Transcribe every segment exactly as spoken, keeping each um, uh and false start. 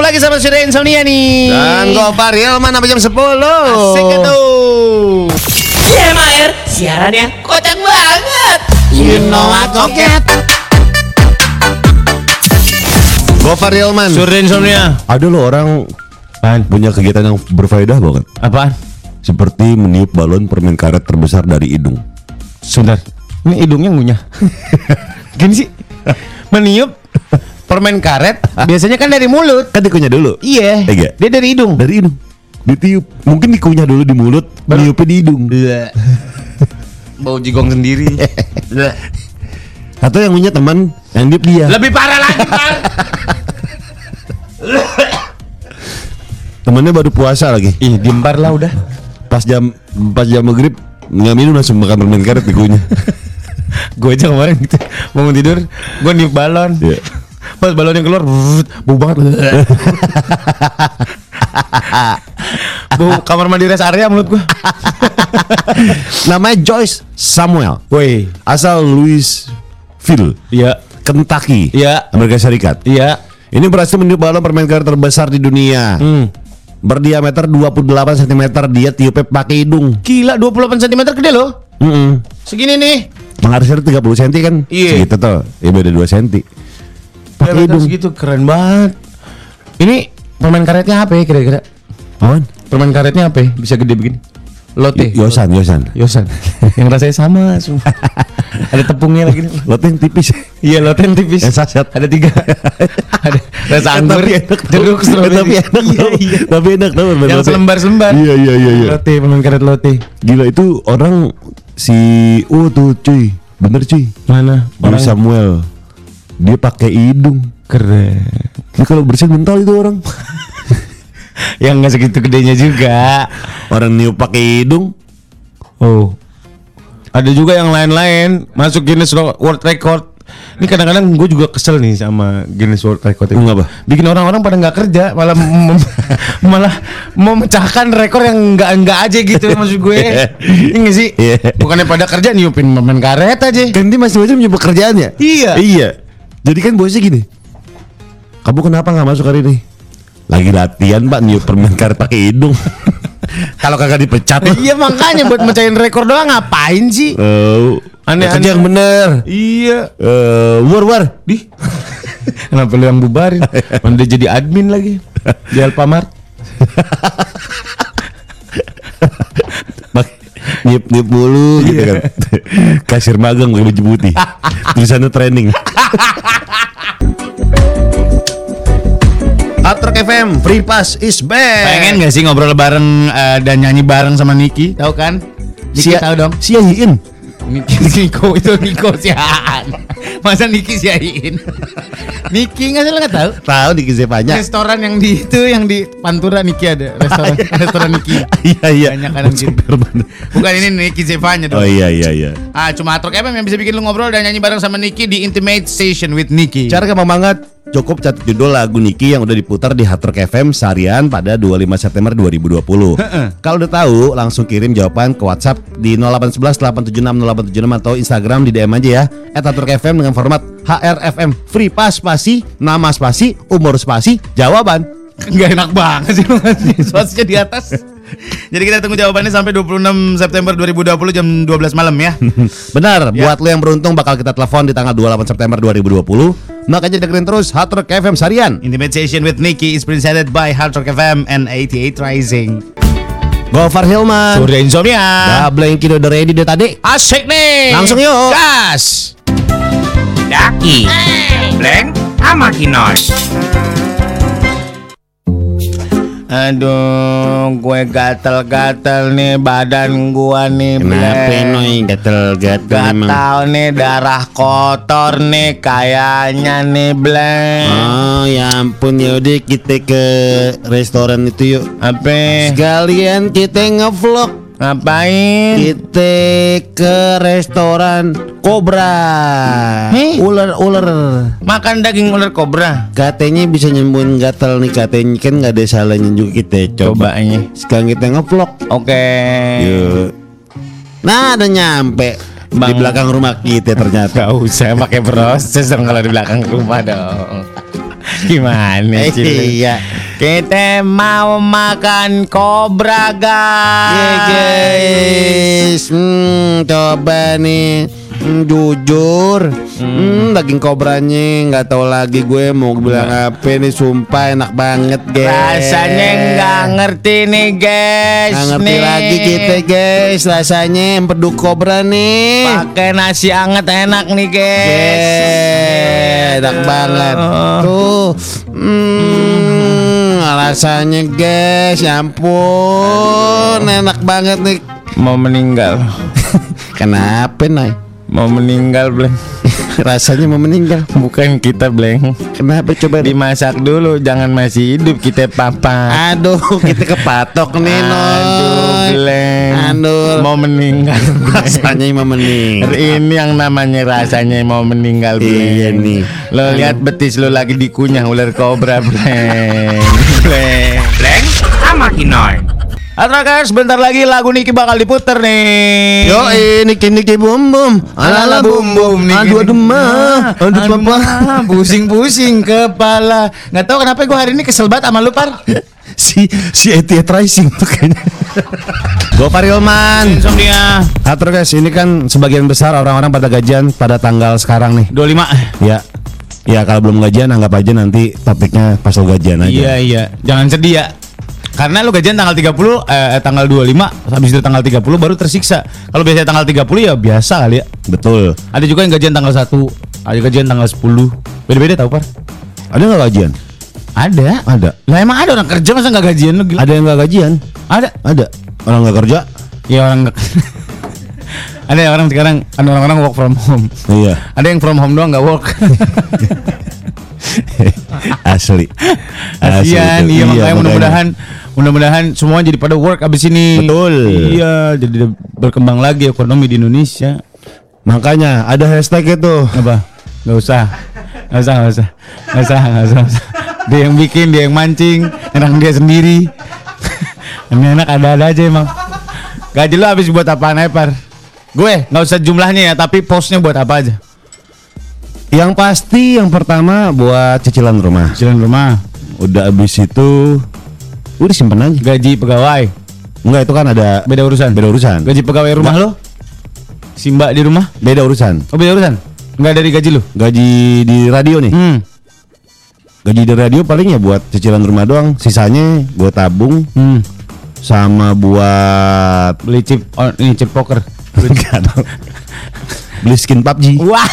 lagi sama Surya Insomnia nih. Dan Gofar Hilman sampai jam sepuluh. Asik itu. C M A R siarannya kocak banget. You know I coket. Gofar Hilman, Surya Insomnia. ada lo orang punya kegiatan yang berfaedah banget. Apaan? Seperti meniup balon permen karet terbesar dari hidung. Sebentar, ini hidungnya ngunyah. Gini sih, meniup permen karet biasanya kan dari mulut. Kan dikunyah dulu. Iya. Iya. Dia dari hidung. Dari hidung. Ditiup. Mungkin dikunyah dulu di mulut, Baru- niupnya di hidung. Bau jigong sendiri. Atau yang punya teman yang niup dia. Lebih parah lagi, Bang. Temennya baru puasa lagi. Ih, diembar lah udah. Pas jam pas jam maghrib nggak minum langsung makan permen karet dikunyah. Gue aja kemarin gitu, bangun tidur, gue niup balon. Iya. Pas balonnya keluar, brrrt, bau banget. Bau kamar mandi rest area mulut gue. Namanya Joyce Samuel. Woi, Asal Louisville, iya, Kentucky, Iya. Amerika Serikat. iya. Ini berhasil meniup balon permen karet terbesar di dunia. Hmm. Berdiameter dua puluh delapan sentimeter, dia tiupnya pakai hidung. Gila, dua puluh delapan sentimeter gede loh. Mm-mm. Segini nih. Mengharusnya tiga puluh sentimeter kan? Iya. Segitu tuh. Ya beda dua sentimeter. Pakai Diameter hidung. segitu, keren banget. Ini permen karetnya apa ya kira-kira? Apaan? Permen karetnya apa ya? Bisa gede begini? Lotte. Y- Yosan, Yosan. Yosan. Yang rasanya sama semua. Ada tepungnya lagi nih. Lotte yang tipis. Iya, lotte yang tipis. Yang saset. Ada tiga. Ada rasa anggur, Tapi enak tau. jeruk, stroberi. Tapi enak Iya, tau. iya. Tapi enak tau permen Yang Lotte. selembar-selembar. Iya, iya, iya, iya. Lotte, permen karet lotte. Gila itu orang si oh tuh cuy. Bener cuy. Mana? Orang Samuel. Dia pakai hidung. Keren. Ini kalau bersin mental itu orang. Yang nggak segitu gedenya juga. Orang niup pakai hidung. Oh. Ada juga yang lain-lain masuk Guinness World Record. Ini kadang-kadang gue juga kesel nih sama Guinness World Record itu. Kenapa? Bikin orang-orang pada nggak kerja, malah mem- malah memecahkan rekor yang nggak-nggak aja gitu maksud gue. Ini nggak sih? Iya. Bukannya pada kerja niupin permen karet aja. Kan dia masing-masing punya pekerjaannya. Iya. Iya. Jadi kan bosnya gini. Kamu kenapa nggak masuk hari ini? Lagi latihan pak, niup permen karet pakai hidung. Kalau kagak dipecat loh. Iya makanya buat mecahin rekor doang ngapain sih? Oh, Aneh-aneh. kerja yang bener. Iya. Eh, war war. Di. Kenapa lu yang bubarin? Mana dia jadi admin lagi di Alfamart. Niup niup mulu gitu kan. Kasir magang pakai baju putih. Tulisannya training. Hard Rock F M, Free Pass is back. Pengen gak sih ngobrol bareng uh, dan nyanyi bareng sama Niki? Tahu kan? Niki Sia- tahu dong. Sia-iin. Niki Niko itu Niko siaan. Masa Niki siain? Niki nggak sih lo nggak tahu? Tahu di Kizepanya. Restoran yang di itu yang di Pantura Niki ada restoran restoran Niki. Iya iya. Banyak kadang gitu. Bukan ini Niki Zevanya dong. Oh iya iya iya. Ah cuma Hard Rock F M yang bisa bikin lu ngobrol dan nyanyi bareng sama Niki di Intimate Station with Niki. Cara gampang banget. Cukup catat judul lagu Niki yang udah diputar di Hard Rock F M seharian pada dua puluh lima September dua ribu dua puluh. Kalau udah tahu, langsung kirim jawaban ke WhatsApp di nol delapan satu satu delapan tujuh enam nol delapan tujuh enam atau Instagram di D M aja ya et Hard Rock F M dengan format H R F M Free Pass spasi, nama spasi, umur spasi, jawaban. Nggak enak banget sih lu ngasih spasinya di atas. Jadi kita tunggu jawabannya sampai dua puluh enam September dua ribu dua puluh jam dua belas malam ya. Benar, Ya. buat lo yang beruntung bakal kita telepon di tanggal dua puluh delapan September dua ribu dua puluh. Makanya dengerin terus Hard Rock F M seharian. Intimate Station with Niki is presented by Hard Rock F M and eighty-eight Rising. Gofar Hilman. Surya Insomnia. Double yang kilo udah ready deh tadi. Asik nih. Langsung yuk. Gas. Daki, Blank, sama Kinos. Aduh, gue gatel-gatel nih badan gua nih. Kenapa Bleng. noy gatel-gatel Gak emang? tau nih darah kotor nih kayaknya nih Bleng. Oh ya ampun, yaudah kita ke restoran itu yuk. Apa? Sekalian kita ngevlog. Ngapain? Kita ke restoran Cobra. Heh? Ular-ular. Makan daging ular kobra. Katanya bisa nyembuhin gatal nih, katanya kan nggak ada salahnya juga kita coba. Cobanya. Sekarang kita ngevlog. Oke. Yuk. Nah, udah nyampe di Bang. belakang rumah kita ternyata. Gak usah pakai proses dong kalau di belakang rumah dong. Gimana Eh, sih? iya. Kita mau makan kobra guys. Yeah, guys, hmm, coba nih. Hmm, jujur, hmm, daging kobranya nggak tahu lagi gue mau bilang apa nih. Sumpah enak banget guys. Rasanya nggak ngerti nih guys. Nggak ngerti nih. lagi kita guys. Rasanya empedu kobra nih. Pakai nasi anget enak nih guys. Yeah, enak banget. Tuh, hmm, rasanya guys, ya ampun, enak banget nih. Mau meninggal. Kenapa Nay? Mau meninggal Bleng. Rasanya mau meninggal. Bukan kita Bleng. Kenapa coba Dimasak dulu, jangan masih hidup kita papa. Aduh, kita kepatok nih Noy. Aduh Bleng. Aduh. Mau meninggal. Rasanya mau meninggal. Ini yang namanya rasanya mau meninggal Bleng. Iya nih. Lo lihat betis lo lagi dikunyah ular kobra Bleng. Bleng. Bleng sama Kinoy. Atrakas, sebentar lagi lagu Niki bakal diputer nih. Yo, ini kini kini bum bum, ala ala bum bum, aduh aduh mah, aduh papa, pusing-pusing kepala. Nggak tahu kenapa gue hari ini kesel banget sama lu Par. si si Etiet Rising tuh kayaknya. Gue Parilman. Insomnia. Atur guys, ini kan sebagian besar orang-orang pada gajian pada tanggal sekarang nih. dua puluh lima. Ya, ya kalau belum gajian anggap aja nanti topiknya pas lo gajian aja. Iya iya, jangan sedih ya. Karena lu gajian tanggal tiga puluh, eh, tanggal dua puluh lima, habis itu tanggal tiga puluh baru tersiksa. Kalau biasanya tanggal tiga puluh ya biasa kali ya. Betul. Ada juga yang gajian tanggal satu, ada gajian tanggal sepuluh. Beda-beda tau Par? Ada nggak gajian? Ada. Ada. Lah emang ada orang kerja masa nggak gajian lu gila? Ada yang nggak gajian? Ada. Ada. Orang nggak kerja? Ya orang nggak. Ada ya orang sekarang, ada orang-orang work from home. Iya. Ada yang from home doang nggak work. Asli. Kasian, tuh. iya, makanya mudah-mudahan mudah-mudahan semua jadi pada work abis ini. Betul. Iya, jadi berkembang lagi ekonomi di Indonesia. Makanya ada hashtag itu. Apa? Gak usah, gak usah, gak usah, gak usah, gak usah, gak usah. Dia yang bikin, dia yang mancing, enak dia sendiri. Ini enak ada-ada aja emang. Gaji lu habis buat apaan aja Par? Gue nggak usah jumlahnya ya, tapi posnya buat apa aja? Yang pasti yang pertama buat cicilan rumah. Cicilan rumah. Udah abis itu udah simpen aja. Gaji pegawai. Enggak, itu kan ada Beda urusan. beda urusan. Gaji pegawai rumah lo? Si Mbak di rumah? Beda urusan. Oh beda urusan? Nggak dari gaji lo? Gaji di radio nih. Hmm. Gaji di radio paling ya buat cicilan rumah doang. Sisanya gue tabung Hmm. sama buat Beli chip, oh, ini chip poker. Enggak dong. Beli skin P U B G. Wah.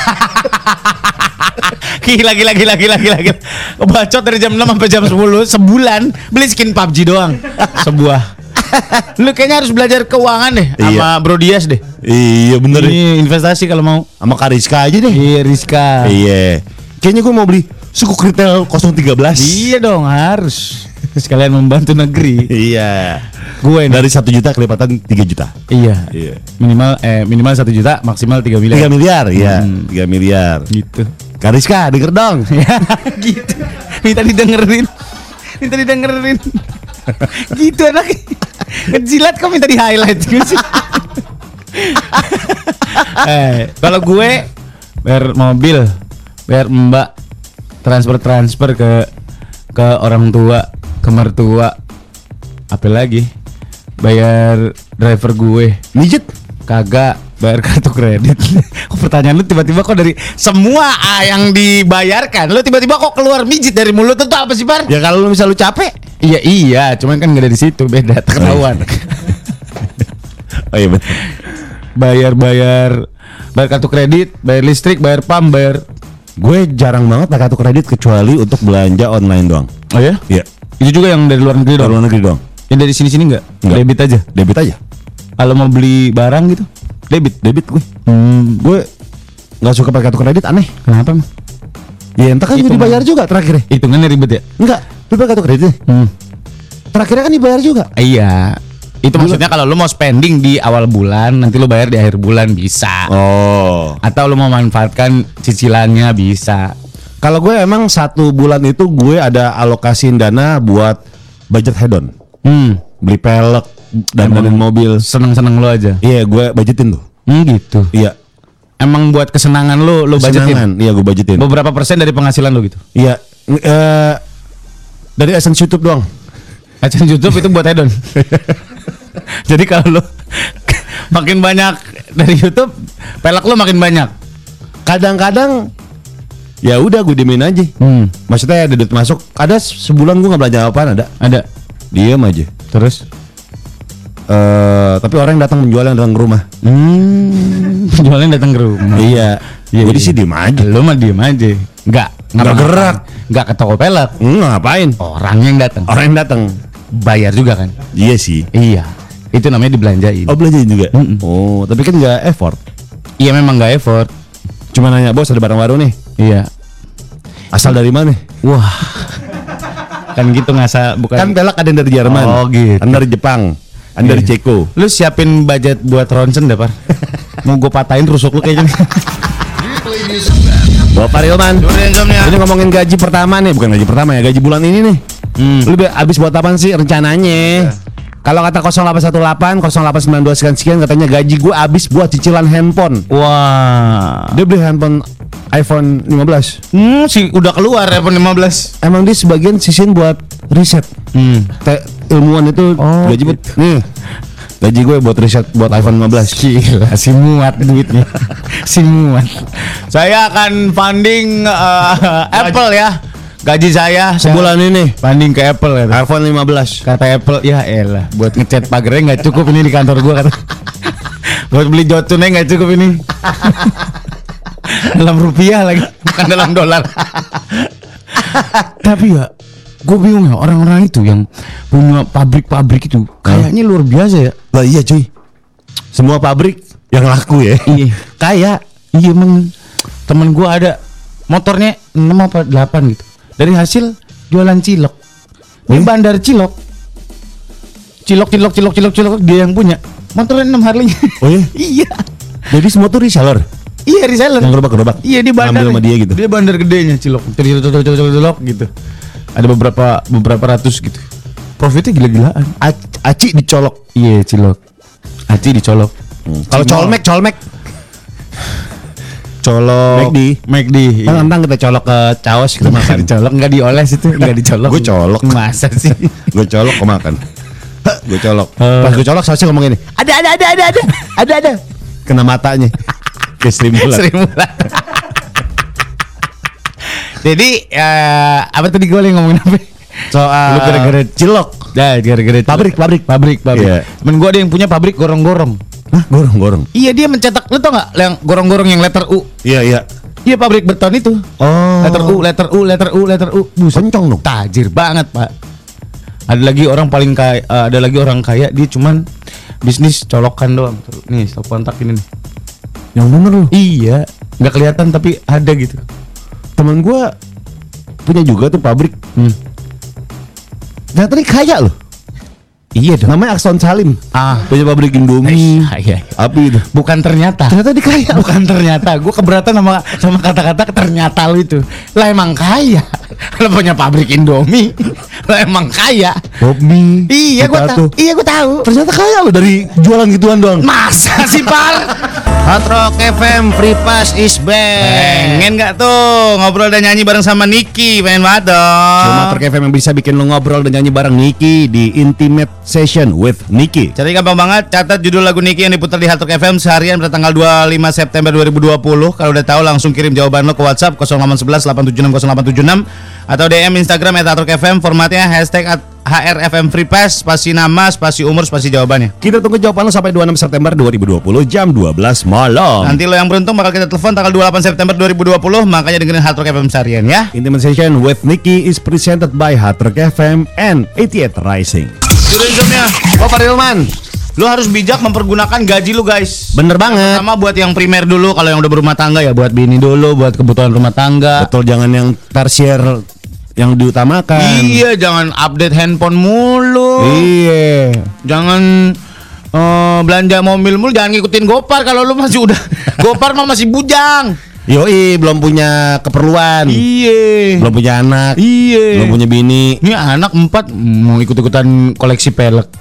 Gila gila gila gila gila gila. Bacot dari jam enam sampai jam sepuluh sebulan beli skin P U B G doang. Sebuah. Lu kayaknya harus belajar keuangan deh sama Iya. Bro Dias deh. Iya bener. Ini investasi kalau mau. Sama Kariska aja deh. Iya Rizka. Iya. Kayaknya gue mau beli suku retail nol tiga belas. Iya dong harus. Sekalian membantu negeri. Iya. Gue nih. Dari satu juta kelipatan tiga juta. Iya. Iya. Minimal eh minimal satu juta, maksimal tiga miliar. Tiga miliar, ya. Hmm. Tiga miliar. Gitu. Kariska denger dong. Gitu. Minta didengerin. Minta didengerin. Gitu anaknya. Ngejilat kok minta di highlight gitu. Eh, kalau gue bayar mobil, bayar mbak, transfer transfer ke ke orang tua, ke mertua, apa lagi? Bayar driver gue, Mijet. kagak bayar kartu kredit. Kok pertanyaan lu tiba-tiba kok dari semua ah, yang dibayarkan, lu tiba-tiba kok keluar mijit dari mulut itu apa sih Par? Ya kalau lu misal lu capek. Iya iya, cuman kan nggak ada di situ, beda ketahuan. Oh iya betul. bayar bayar bayar kartu kredit, bayar listrik, bayar pam, bayar. Gue jarang banget pakai kartu kredit kecuali untuk belanja online doang. Oh ya? Iya. Itu juga yang dari luar negeri Dari dong. luar negeri doang. Yang dari sini sini nggak? Nggak. Debit aja. Debit aja. Kalau mau beli barang gitu, debit. Debit gue. Hmm, Gue nggak suka pakai kartu kredit, aneh. kenapa? Emang? Ya entah kan Itu juga dibayar mah. juga terakhirnya. Hitungannya ribet ya? Enggak, lu pakai kartu kredit. Hmm. Terakhirnya kan dibayar juga. Iya. Itu maksudnya kalau lu mau spending di awal bulan, nanti lu bayar di akhir bulan bisa. Oh. Atau lu mau manfaatkan cicilannya bisa. Kalau gue emang satu bulan itu gue ada alokasiin dana buat budget head-on. Hmm. Beli pelek dan Emang dan mobil. Seneng-seneng lu aja. Iya, gue budgetin tuh. Hmm, gitu. Iya. Emang buat kesenangan lu, lu budgetin. Kesenangan. Iya, gue budgetin. Beberapa persen dari penghasilan lu gitu. Iya. Ng- eh, Dari AdSense YouTube doang. AdSense YouTube itu buat hedon. Jadi kalau lo makin banyak dari YouTube, pelek lo makin banyak. Kadang-kadang ya udah gue diemin aja. Hmm. Maksudnya ada duit masuk, ada sebulan gue nggak belanja apaan ada. Ada. Diam aja. Terus Eh, tapi orang yang datang menjual yang datang ke rumah. Hmm, penjualnya datang ke rumah. Iya. Iya, Gue di iya. sini diem aja. Lo mah diem aja. Enggak, Nggak gerak. Enggak ke toko pelek. Hmm, ngapain? Orang yang datang. Orang yang datang. Bayar juga kan? Iya sih. Iya. Itu namanya dibelanjain. Oh belanjain juga. Mm-mm. Oh tapi kan nggak effort. Iya memang enggak effort. Cuma nanya bos ada barang baru nih. Iya. Asal dari mana? Wah. Kan gitu ngasa bukan. Kan pelak ada yang dari Jerman. Oh, gitu. Ada dari Jepang. Ada dari Iya. Ceko. Lu siapin budget buat ronsen dah, Par. Mau gue patahin rusuk lu kayaknya. Bapak Rilman. Insomnia. Ini ngomongin gaji pertama nih, bukan gaji pertama ya, gaji bulan ini nih. Hmm. Lu be- abis buat apaan sih rencananya? Kalau kata nol delapan satu delapan, nol delapan sembilan dua sekian sekian katanya gaji gue abis buat cicilan handphone. Wah. Dia beli handphone iPhone lima belas. Hmm, sih udah keluar iPhone lima belas. Emang dia sebagian sisin buat riset. Hmm. Te- ilmuwan itu Oh, gaji buat nih. Gaji gue buat riset buat iPhone lima belas. Gila, si muat duitnya. Si muat. Saya akan funding uh, Apple ya. Gaji saya Sebulan ini funding ke Apple ya. iPhone lima belas. Kata Apple, ya elah, buat ngecat pagarnya nggak cukup ini di kantor gua kata. Buat beli jotunnya nggak cukup ini. Dalam rupiah lagi, bukan dalam dolar. Tapi ya, gue bingung ya orang-orang itu yang punya pabrik-pabrik itu kayaknya luar biasa ya. Lah iya cuy. Semua pabrik yang laku ya. Iya, kayak iya emang temen gua ada motornya enam apa delapan gitu. Dari hasil jualan cilok. Di Hmm? bandar cilok. Cilok cilok cilok cilok cilok dia yang punya. Motornya enam Harley. Oh iya? Iya. Jadi semua tuh reseller. Iya reseller. Yang gerobak-gerobak. Iya di bandar. Ngambil sama dia gitu. Dia bandar gedenya cilok. Cilok cilok cilok cilok cilok gitu. Ada beberapa beberapa ratus gitu. Profitnya gila-gilaan. A- Aci dicolok. Iya cilok. Aci dicolok. Kalau colmek, colmek. Colok. McD. McD. Kan nantang kita colok ke caos kita makan. Dicolok nggak dioles itu nggak dicolok. Gue colok. Masa sih? Gue colok kok makan. Gue colok. Eh. Pas gue colok sausnya ngomong gini. Ada ada ada ada ada ada ada. Kena matanya. Kayak Sri Mulat. Sri Mulat. Jadi eh, apa tadi gue lagi ngomongin apa? Soal Lu gara-gara cilok. Ya gara-gara Pabrik, pabrik. pabrik pabrik. Iya. Temen gue ada yang punya pabrik gorong-gorong. Hah, gorong-gorong. Iya dia mencetak, lu tau nggak yang gorong-gorong yang letter U? Iya, iya. Iya pabrik beton itu. Oh. Letter U, letter U, letter U, letter U. Buset. Kencong dong. Tajir banget pak. Ada lagi orang paling kaya, eh, ada lagi orang kaya dia cuman bisnis colokan doang. Nih stop kontak ini nih. Yang bener lu. Iya, nggak kelihatan tapi ada gitu. Temen gue punya juga tuh pabrik. Hmm. Ternyata dia kaya loh. Iya dong. Namanya Akson Salim. Ah, Punya pabrik Indomie. iya, iya. Api itu. Bukan ternyata. Ternyata dia kaya. Bukan ternyata. Gue keberatan sama sama kata-kata ternyata lu itu. Lah emang kaya. Lo punya pabrik Indomie. Lo emang kaya. Hobi. Iya gue tahu. Iya gue tahu. Ternyata kaya loh dari jualan gituan doang. Masa sih Par? Hard Rock F M Free Pass is back. Pengen gak tuh ngobrol dan nyanyi bareng sama Niki? Pengen banget dong. Cuma Hard Rock F M yang bisa bikin lo ngobrol dan nyanyi bareng Niki di Intimate Session with Niki. Jadi gampang banget, catat judul lagu Niki yang diputar di Hard Rock F M seharian pada tanggal dua puluh lima September dua ribu dua puluh. Kalau udah tahu langsung kirim jawaban lo ke WhatsApp nol delapan satu satu delapan tujuh enam nol delapan tujuh enam atau D M Instagram at Hard Rock F M, formatnya hashtag at H R F M Free Pass, spasi nama, spasi umur, spasi jawabannya. Kita tunggu jawaban lo sampai dua puluh enam September dua ribu dua puluh jam dua belas malam. Nanti lo yang beruntung bakal kita telepon tanggal dua puluh delapan September dua ribu dua puluh, makanya dengerin Hard Rock F M seharian ya. Intimate Session with Niki is presented by Hard Rock F M and eighty-eight Rising. Sudah jamnya. Oh Pak Rilman, Lo harus bijak mempergunakan gaji lu guys. bener banget. Sama buat yang primer dulu, kalau yang udah berumah tangga ya buat bini dulu, buat kebutuhan rumah tangga. Betul, jangan yang tersier yang diutamakan. Iya, jangan update handphone mulu. Iya. Jangan eh, belanja mobil mulu, jangan ngikutin Gopar kalau lu masih udah Gopar mah masih bujang. Yoi, belum punya keperluan. Iya. Belum punya anak. Iya. Belum punya bini. Ini anak empat mau ikut-ikutan koleksi pelek.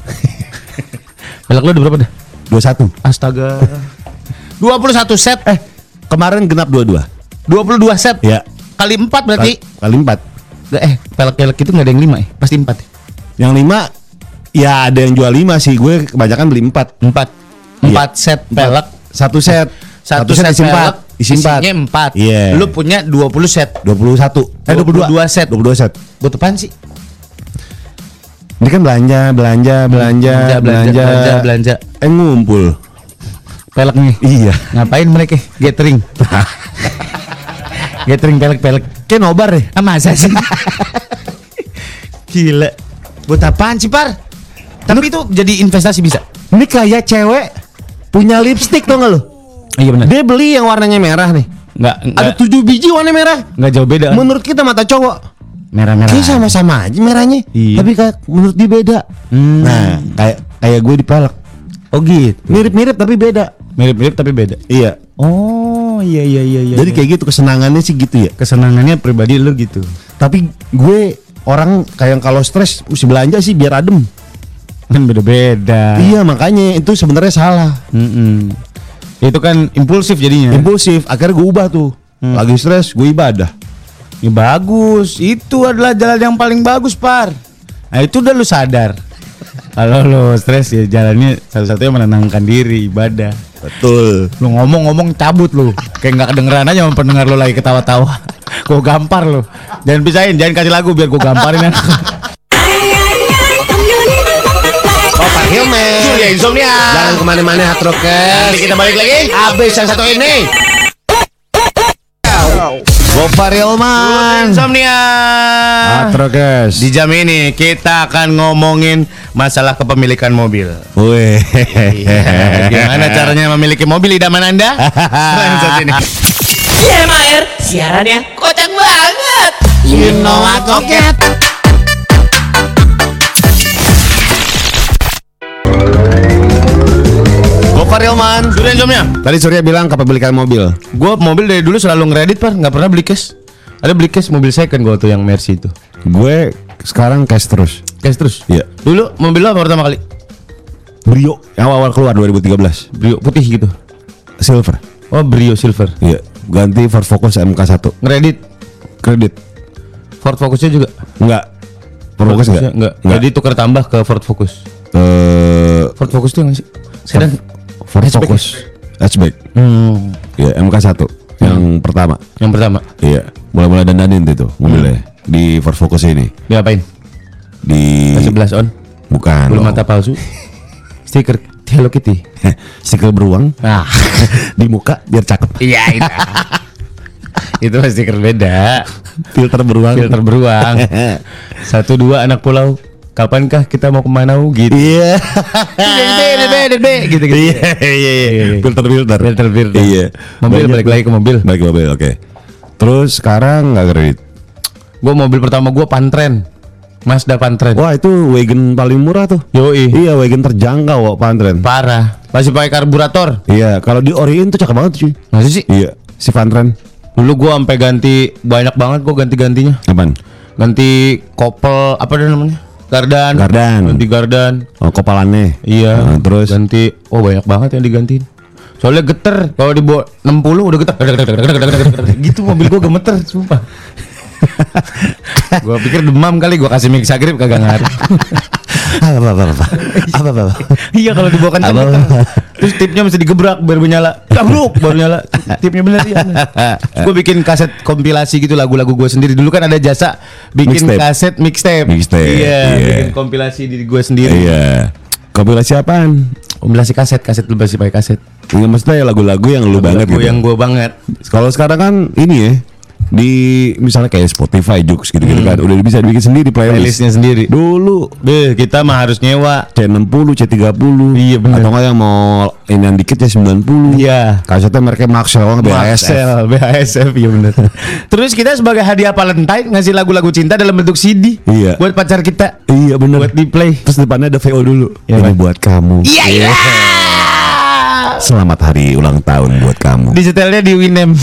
Pelek lu udah berapa dah? dua puluh satu. Astaga. dua puluh satu set. Eh, kemarin genap dua puluh dua. dua puluh dua set. Ya. Kali empat berarti. Kali, kali empat. eh pelek-pelek itu nggak ada yang lima ya, pasti empat. Ya? Yang lima ya ada yang jual lima sih, gue kebanyakan beli empat. Empat, empat Iya. set pelek, Satu set, satu, set, isi pelek, empat, isi empat. isinya empat. Iya. Lu punya dua puluh set, dua puluh satu, eh dua puluh dua set. dua puluh dua set. Buat apaan sih? Ini kan belanja, belanja, belanja, belanja, belanja, belanja, belanja. Eh ngumpul. Pelek nih. Iya. Ngapain mereka? Gathering. Gathering pelek-pelek. Kayak nobar deh. Ah, masa sih? Gila. Buat apaan sih, Par? Tapi itu jadi investasi bisa. Ini kayak cewek punya lipstick tuh nggak lo? Iya benar. Dia beli yang warnanya merah nih. Enggak, Ada tujuh biji warna merah. enggak jauh beda. Menurut kita mata cowok Merah-merah. kayak sama-sama aja merahnya. Iya. Tapi kayak menurut dia beda. Hmm. Nah, kayak kayak gue di pelek. Oh gitu. Mirip-mirip tapi beda. Mirip-mirip tapi beda. Iya. Oh, iya iya iya iya. Jadi kayak gitu kesenangannya sih gitu ya. kesenangannya pribadi lu gitu. Tapi gue orang kayak kalau stres mesti belanja sih biar adem. Kan beda-beda. Iya, makanya itu sebenarnya salah. Mm-mm. Itu kan impulsif jadinya. Impulsif, akhirnya gue ubah tuh. Hmm. Lagi stres, gue ibadah. Ya bagus. Itu adalah jalan yang paling bagus, Par. Nah, itu udah lu sadar. Kalau lu stres ya jalannya satu-satunya menenangkan diri, ibadah. Betul. Lu ngomong-ngomong cabut lu. Kayak nggak kedengeran aja sama pendengar lu lagi ketawa-tawa. Gua gampar lu. Jangan pisahin, jangan kasih lagu biar gua gamparin. Oh, Pak Hilman. Surya Insomnia. Jangan kemana-mana, Hard Rockers. Nanti kita balik lagi. Abis yang satu ini. Gopar Hilman. Insomnia. Hard Rockers. Di jam ini kita akan ngomongin masalah kepemilikan mobil. Wih. Iya, gimana caranya memiliki mobil idaman Anda? Langsung sini. C M A R siarannya kocak banget. You know what, Rocket? Gopar Hilman. Surya Insomnia. Tadi Surya bilang kepemilikan mobil. Gue mobil dari dulu selalu ngeredit, Par, nggak pernah beli cash. Ada beli cash mobil second gue tuh yang Mercy itu. Gue sekarang cash terus. Cash terus. Iya. Dulu mobil lo apa pertama kali? Brio yang awal keluar dua ribu tiga belas. Brio putih gitu. Silver. Oh, Brio Silver. Iya. Ganti Ford Focus M K satu. Ngeredit. Kredit. Ford Focusnya juga. Enggak. Ford Focus enggak? enggak. Enggak. Jadi tukar tambah ke Ford Focus. Eh, Ford Focus tuh yang sih? Sedan. Ford Hatchback Focus hatchback. Hmm. Iya, M K satu yang pertama. Yang pertama. Iya, mulai-mulai dandanin tuh mobilnya di Ford Focus ini. Diapain? Di sebelas on. bukan. Bulu dong. mata palsu. Stiker Hello Kitty. Stiker beruang Nah. di muka biar cakep. Iya itu. Itu mah stiker beda. Filter beruang. Filter beruang. Satu dua anak pulau. Kapankah kita mau kemana gitu? Iya. Beda beda beda gitu gitu. Iya, iya, iya. Filter filter. Filter filter. Iya. Mobil Banyak balik lagi ke mobil. Balik ke mobil, oke. Terus sekarang nggak kredit. Gue mobil pertama gue Pantren. Mazda Pantren. Wah, itu wagon paling murah tuh. Yoi. Iya, wagon terjangkau kok Pantren. Parah. Masih pakai karburator. Iya, kalau di Orion tuh cakep banget cuy. Masih sih? Iya, si Pantren. Dulu gue sampai ganti banyak banget gue ganti-gantinya. Apaan? Ganti kopel apa dah namanya? Gardan. Gardan. Ganti gardan. Oh, kopalannya. Iya. Nah, terus ganti. Oh, banyak banget yang digantiin. Soalnya geter. Kalau dibawa enam puluh udah geter. Gitu mobil gue gemeter, sumpah. Gua pikir demam kali, gua kasih mixagrip kagak ngaruh. apa apa apa apa apa apa apa. Iya kalau dibawa kencang Apa, geter. apa. Terus tipnya mesti digebrak baru menyala. Gabruk baru nyala. Tipnya bener ya. Gue bikin kaset kompilasi gitu lagu-lagu gue sendiri. Dulu kan ada jasa bikin Mixtape. kaset mixtape. Mixtape, Iya, iya. bikin kompilasi diri gue sendiri. Iya. Kompilasi apaan? Kompilasi kaset, kaset lu masih pakai kaset. Iya, maksudnya ya lagu-lagu yang lu banget Lagu gitu. yang gue banget. Kalau sekarang kan ini ya, di misalnya kayak Spotify, Joox gitu-gitu kan, udah bisa dibikin sendiri playlist. Playlistnya sendiri. Dulu Beh, kita mah harus nyewa. C enam puluh, C tiga puluh. Iya, bener. Atau nggak yang mau ini yang dikit ya sembilan puluh. Iya. Kasetnya mereknya Maxell, B A S F. Maxell, B H S F, iya bener. Terus kita sebagai hadiah Valentine ngasih lagu-lagu cinta dalam bentuk C D. Iya. Buat pacar kita. Iya bener. Buat di play. Terus depannya ada V O dulu. Iya, Ini Pak. buat kamu. Iya iya. Selamat hari ulang tahun buat kamu. Di setelnya di Winem.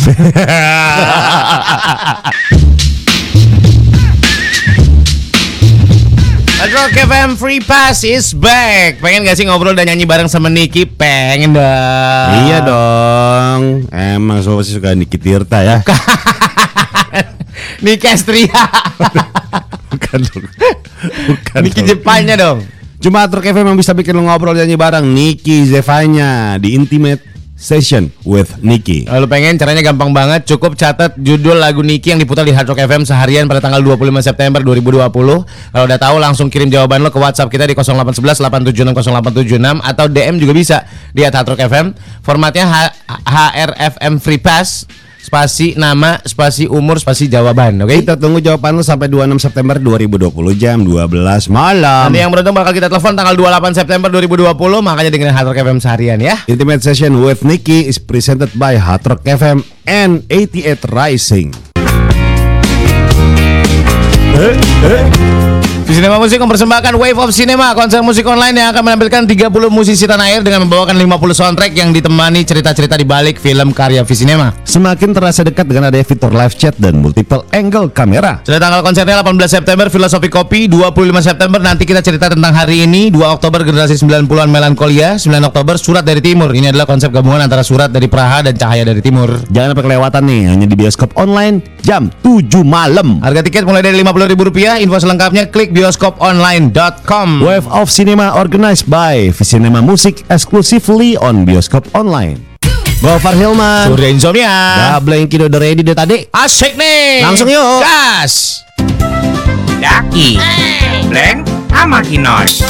Rock F M Free Pass is back. Pengen gak sih ngobrol dan nyanyi bareng sama Niki? Pengen dong. Iya dong. Emang so pasti suka Niki Tirta ya. Niki Astria. Bukan dong. Bukan. Niki dong. Jepangnya dong. Cuma Hard Rock F M yang bisa bikin lo ngobrol nyanyi bareng Niki Zevanya di Intimate Session with Niki. Kalau pengen caranya gampang banget, cukup catat judul lagu Niki yang diputar di Hard Rock F M seharian pada tanggal dua puluh lima September dua ribu dua puluh. Kalau udah tahu langsung kirim jawaban lo ke WhatsApp kita di nol delapan satu satu delapan tujuh enam nol delapan tujuh enam atau D M juga bisa di at Hard Rock F M. Formatnya H- HRFM Free Pass, spasi nama, spasi umur, spasi jawaban. Oke? Okay? Kita tunggu jawaban lo sampai dua puluh enam September dua ribu dua puluh jam dua belas malam. Nanti yang beruntung bakal kita telepon tanggal dua puluh delapan September dua ribu dua puluh, makanya dengerin Hard Rock F M seharian ya. Intimate Session with Niki is presented by Hard Rock F M and delapan puluh delapan Rising. Cinema Musik mempersembahkan Wave of Cinema, konser musik online yang akan menampilkan tiga puluh musisi tanah air dengan membawakan lima puluh soundtrack yang ditemani cerita-cerita di balik film karya Visinema. Semakin terasa dekat dengan adanya fitur live chat dan multiple angle kamera. Sudah tanggal konsernya delapan belas September Filosofi Kopi, dua puluh lima September nanti kita cerita tentang hari ini, dua Oktober generasi sembilan puluhan Melankolia, sembilan Oktober Surat dari Timur. Ini adalah konsep gabungan antara Surat dari Praha dan Cahaya dari Timur. Jangan sampai kelewatan nih, hanya di bioskop online jam tujuh malam. Harga tiket mulai dari lima puluh ribu rupiah. Info selengkapnya klik bioskop online dot com. Wave of Cinema organized by Visinema Music exclusively on bioskop online. Gofar Hilman, Surya Insomnia. Gableng Kido udah ready deh tadi. Asik nih. Langsung yuk. Gas. Daki, Blank, sama Kinos.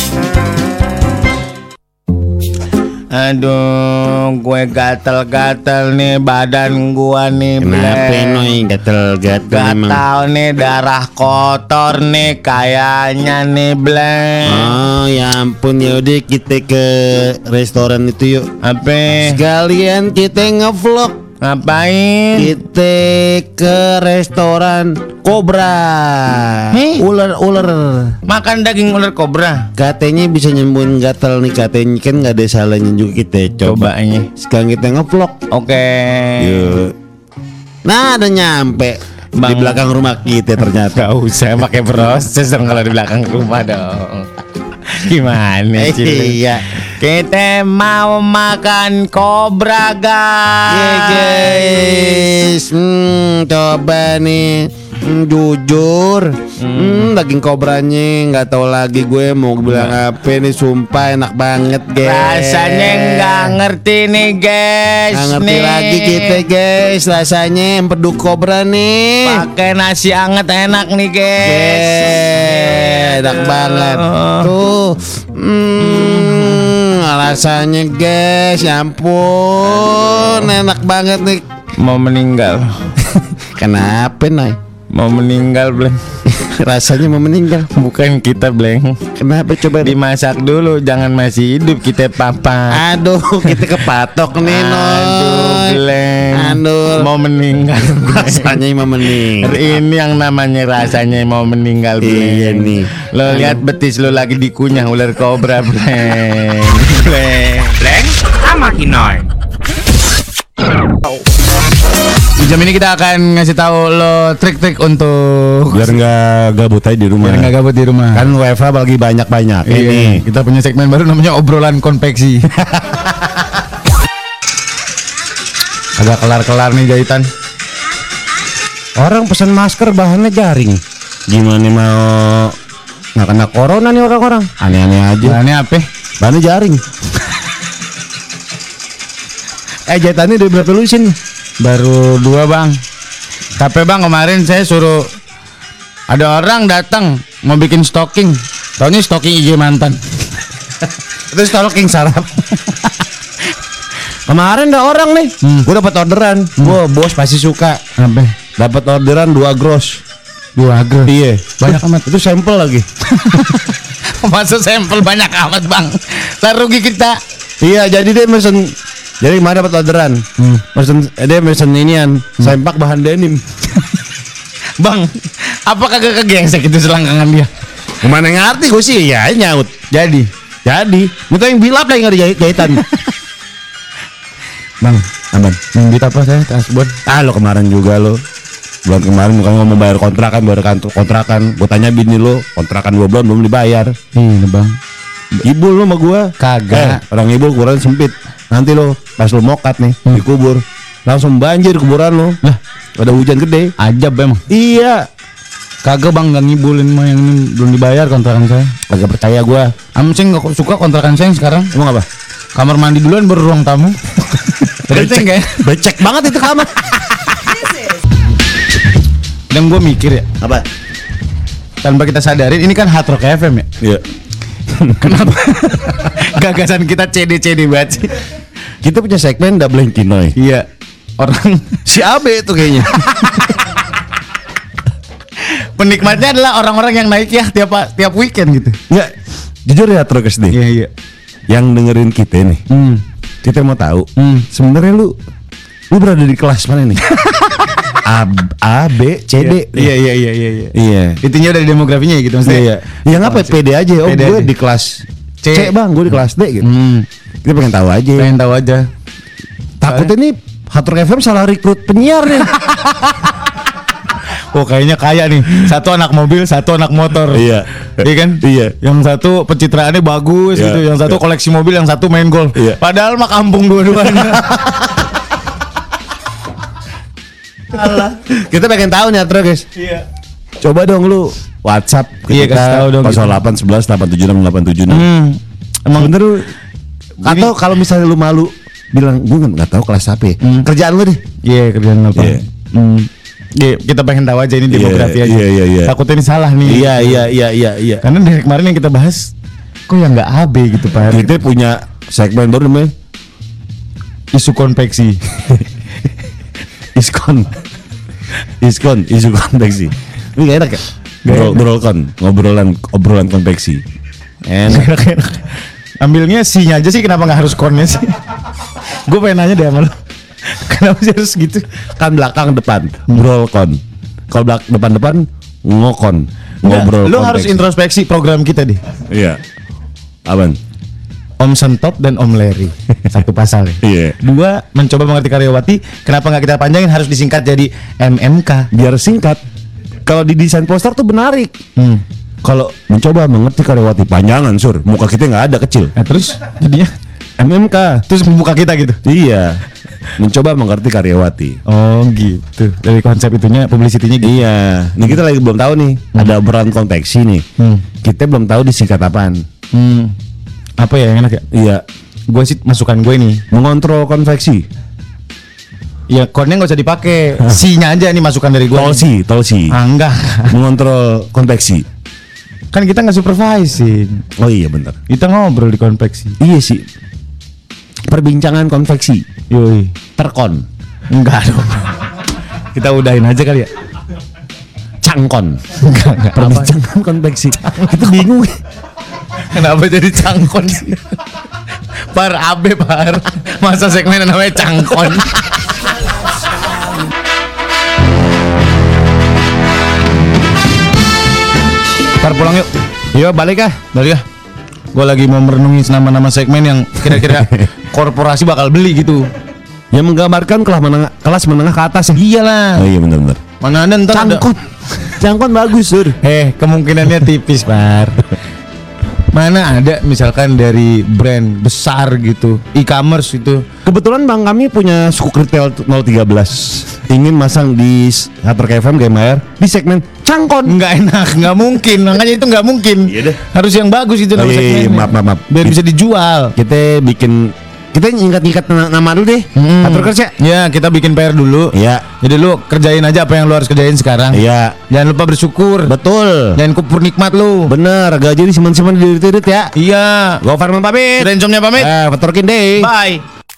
Aduh, gue gatel-gatel nih badan gua nih. Kenapa Bleng. noy gatel-gatel emang? Gatal nih, darah kotor nih kayaknya nih, Bleng. Oh ya ampun, yaudah kita ke restoran itu yuk. Apa? Sekalian kita ngevlog. Ngapain? Kita ke restoran Cobra. Heh? Ular-ular. Makan daging ular kobra. Katanya bisa nyembuhin gatal nih, katanya kan nggak ada salahnya juga kita coba. Cobanya. Sekarang kita ngevlog. Oke. Yuk. Nah, udah nyampe di Bang. belakang rumah kita ternyata. Gak usah pakai proses dong kalau di belakang rumah dong. Gimana Eh, sih? iya. Kita mau makan kobra, guys. Iya guys, hmm, coba nih, hmm, jujur, hmm, daging kobranya nggak tahu lagi gue mau bilang apa nih, sumpah enak banget guys. Rasanya nggak ngerti nih, guys. Nggak ngerti nih. lagi kita guys, rasanya empedu kobra nih. Pakai nasi anget enak nih, guys. Yeay, enak banget tuh. Hmm, rasanya guys, ya ampun, enak banget nih. Mau meninggal. Kenapa Nay? Mau meninggal, Bleng. Rasanya mau meninggal. Bukan kita, Bleng. Kenapa coba? Dimasak dulu, jangan masih hidup kita papa. Aduh, kita kepatok nih Noy. Aduh, Bleng. Aduh. Mau meninggal. Rasanya mau meninggal. Ini yang namanya rasanya mau meninggal, Bleng. Iya nih. Lo lihat betis lo lagi dikunyah ular kobra, Bleng. Bleng. Blank, sama Kinoy. Di jam ini kita akan ngasih tahu lo trik-trik untuk Biar nggak gabut aja di rumah. biar nggak gabut di rumah. Kan W F H lagi banyak-banyak. Iya, Ini kita punya segmen baru namanya obrolan konveksi. Agak kelar-kelar nih jahitan. orang pesan masker bahannya jaring. Gimana mau nggak kena corona nih orang-orang? Aneh-aneh aja. Bahannya apa? Bahannya jaring. Eh jahitannya udah berapa lusin? Baru dua, Bang. Tapi Bang, kemarin saya suruh ada orang datang mau bikin stocking. Taunya stocking I G mantan. Itu stalking sarap. Kemarin ada orang nih, Hmm. gue dapat orderan. Gue bos pasti suka. Apa? Dapat orderan dua gross. Dua gram. Iya, Banyak amat. Itu sampel lagi. Masuk sampel banyak amat, Bang. Lah rugi kita. Iya, jadi dia mesen. Jadi kemarin dapat orderan. Hmm. Mesen, dia mesen inian, sempak bahan denim. Bang, apa kagak kegengsek itu selangkangan dia? Kemana ngerti gue sih ya nyaut. Jadi, Jadi, minta yang bilap lah yang ada jahit jahitan. Bang, Aman. yang duit apa saya tasbon? Ah lo kemarin juga lo. Bulan kemarin bukan ngomong bayar kontrakan, bayar kantor kontrakan. Gue tanya bini lo, kontrakan dua bulan belum dibayar. Ini, Bang. Ibu lo sama gue Kagak. eh, orang ibu kuburan sempit. Nanti lo pas lo mokat nih dikubur langsung banjir kuburan lo. Lah, Ada hujan gede. Ajab emang. Iya. Kagak bang, nggak ngibulin mah yang ini belum dibayar kontrakan saya. Kagak percaya gua. Am saya nggak suka kontrakan saya yang sekarang. Emang apa? Kamar mandi duluan baru ruang tamu. Becek kayak. Becek banget itu kamar. Dan gue mikir ya, Apa? tanpa kita sadarin ini kan Hard Rock F M ya. Iya. Kenapa? Gagasan kita C D C D banget sih. Kita punya segmen Double Kinoy. Iya. Orang Si Abe itu kayaknya. penikmatnya adalah orang-orang yang naik ya tiap tiap weekend gitu. Enggak. Jujur ya Trokes nih. Iya iya. Yang dengerin kita nih. Hmm. Kita mau tahu. Hmm. Sebenarnya lu lu berada di kelas mana nih? A, A, B, C, D. Iya iya iya iya iya. Iya. Intinya dari demografinya ya gitu maksudnya. Iya. Yang apa? Pede aja. Oh, Pede gue aja. di kelas C, C. bang. Gue di kelas D gitu. Hmm. Kita pengen tahu aja. Pengen tahu aja. Takutnya nih Hard Rock F M salah rekrut penyiar nih. Oh kayaknya kaya nih. Satu anak mobil, satu anak motor. Iya. Iya kan? Iya. Yang satu pencitraannya bagus Iya. gitu. Yang satu koleksi mobil, yang satu main golf. Iya. Padahal mah kampung dua-duanya. Kita pengen tahu nih Atro guys. Iya. Coba dong lu WhatsApp Iya, kasih tahu dong, nol delapan satu satu delapan tujuh enam delapan tujuh enam. Hmm. Emang bener lu. Atau kalau misalnya lu malu bilang gue nggak tahu kelas apa ya. Hmm. Kerjaan lu deh. Iya kerjaan apa? Iya. Hmm. Iya, kita pengen tahu aja ini Iya, demografi aja. iya, iya, iya. Takutnya ini salah nih. Iya iya iya iya iya. Karena dari kemarin yang kita bahas, kok yang nggak A B gitu Pak? Kita punya segmen baru namanya Isu konveksi. Iskon. Iskon, isu konveksi. Ini gak enak ya? Ngobrol, ngobrolkan, ngobrolan obrolan konveksi. Enak. Ambilnya C-nya aja sih, kenapa nggak harus konnya sih? Gue pengen nanya deh sama lo. Kenapa sih harus gitu? Kan belakang depan, ngobrolkon. Kalau belak depan depan ngokon, ngobrol. Lo harus konveksi. introspeksi program kita deh. Iya. Apaan? Om Sentot dan Om Larry. Satu pasal ya. Iya. Dua, mencoba mengerti karyawati. Kenapa nggak kita panjangin, harus disingkat jadi M M K. Biar singkat. Kalau di desain poster tuh menarik. Hmm. Kalau mencoba mengerti karyawati panjangan sur, muka kita nggak ada kecil. Nah, terus jadinya M M K. terus muka kita gitu. Iya. Mencoba mengerti karyawati. Oh gitu. Dari konsep itunya, publicity-nya gitu. Iya. Nih kita lagi belum tahu nih. Ada obrolan konveksi nih. Hmm. Kita belum tahu disingkat apaan. Hmm. Apa ya yang enak ya? Iya. Gue sih masukan gue nih. Mengontrol konveksi. Ya konnya nggak usah dipakai. C-nya aja nih masukan dari gue. Tolsi, tolsi. Ah, enggak. Mengontrol konveksi. Kan kita nggak supervising. Oh iya bener. Kita ngobrol di konveksi. Iya sih. Perbincangan konveksi. Yoi. Terkon. Enggak dong. Kita udahin aja kali ya. Cangkon. Enggak, enggak. Apa? Perbincangan konveksi. Kita bingung. Kenapa jadi cangkon sih? Par abe par. Masa segmen namanya cangkon. Par pulang yuk. Iya balik ah. Balik ah. Gue lagi mau merenungi nama-nama segmen yang kira-kira korporasi bakal beli gitu. Yang menggambarkan kelas menengah, kelas menengah ke atas ya. Iyalah. Oh iya benar-benar. Mana ada ntar ada- Cangkon. Cangkon bagus sur. Eh kemungkinannya tipis par. Mana ada misalkan dari brand besar gitu, e-commerce itu. Kebetulan bang kami punya suku retail nol satu tiga ingin masang di Hard Rock F M Game Air di segmen cangkon. Nggak enak, nggak mungkin. Makanya itu nggak mungkin. Iya deh. Harus yang bagus itu Oh, nama iya, iya, segmennya. maaf, maaf, maaf. Biar bisa dijual. Kita bikin kita nyikat-nyikat na- nama dulu deh. Hmm. Hard Rockers ya. Ya kita bikin P R dulu. Iya. Jadi lu kerjain aja apa yang lu harus kerjain sekarang. Iya. Jangan lupa bersyukur. Betul. Jangan kupur nikmat lu. Bener, gaji disimpan-simpan di dirit ya. Iya. Gua Farman pamit. Rencomnya pamit. Eh, petorkin deh. Bye.